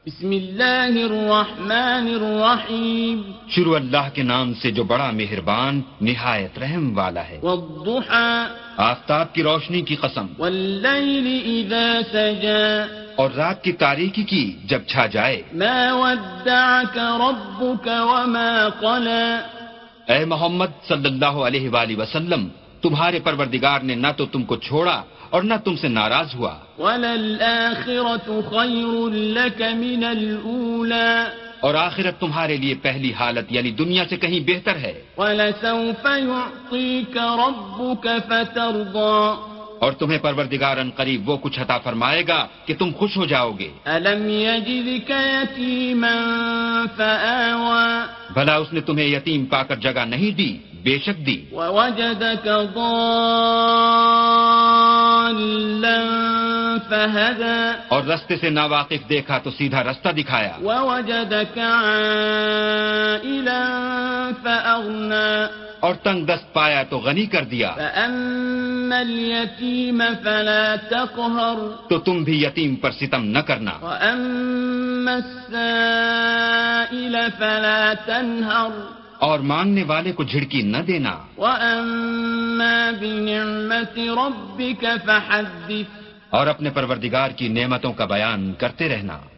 بسم اللہ الرحمن الرحیم، شروع اللہ کے نام سے جو بڑا مہربان نہایت رحم والا ہے۔ والضحى، آفتاب کی روشنی کی قسم، واللیل اذا سجى، اور رات کی تاریکی کی جب چھا جائے۔ ما ودعك ربك وما قلى، اے محمد صلی اللہ علیہ وآلہ وسلم، تمہارے پروردگار نے نہ تو تم کو چھوڑا اور نہ تم سے ناراض ہوا۔ وَلَلْآخِرَةُ خَيْرٌ لَكَ مِنَ الْأُولَى، اور آخرت تمہارے لیے پہلی حالت یعنی دنیا سے کہیں بہتر ہے۔ وَلَسَوْفَ يُعْطِيكَ رَبُّكَ فَتَرْضَى، اور تمہیں پروردگار ان قریب وہ کچھ عطا فرمائے گا کہ تم خوش ہو جاؤ گے۔ أَلَمْ يَجِدْكَ يَتِيمًا فَآوَى، بھلا اس نے تمہیں یتیم پا کر جگہ نہیں دی؟ بے شک دی۔ وَوَجَدَكَ ضَالًّا فَهَدَى، اور رستے سے ناواقف دیکھا تو سیدھا رستہ دکھایا۔ وَوَجَدَكَ عَائِلًا فَأَغْنَى، اور تنگ دست پایا تو غنی کر دیا۔ فَأَمَّا الْيَتِيمَ فَلَا تَقْهَرْ، تو تم بھی یتیم پر ستم نہ کرنا۔ وَأَمَّا السَّائِلَ فَلَا تَنْهَرْ، اور مانگنے والے کو جھڑکی نہ دینا۔ وَأَمَّا بِنِعْمَةِ رَبِّكَ فَحَدِّثْ، اور اپنے پروردگار کی نعمتوں کا بیان کرتے رہنا۔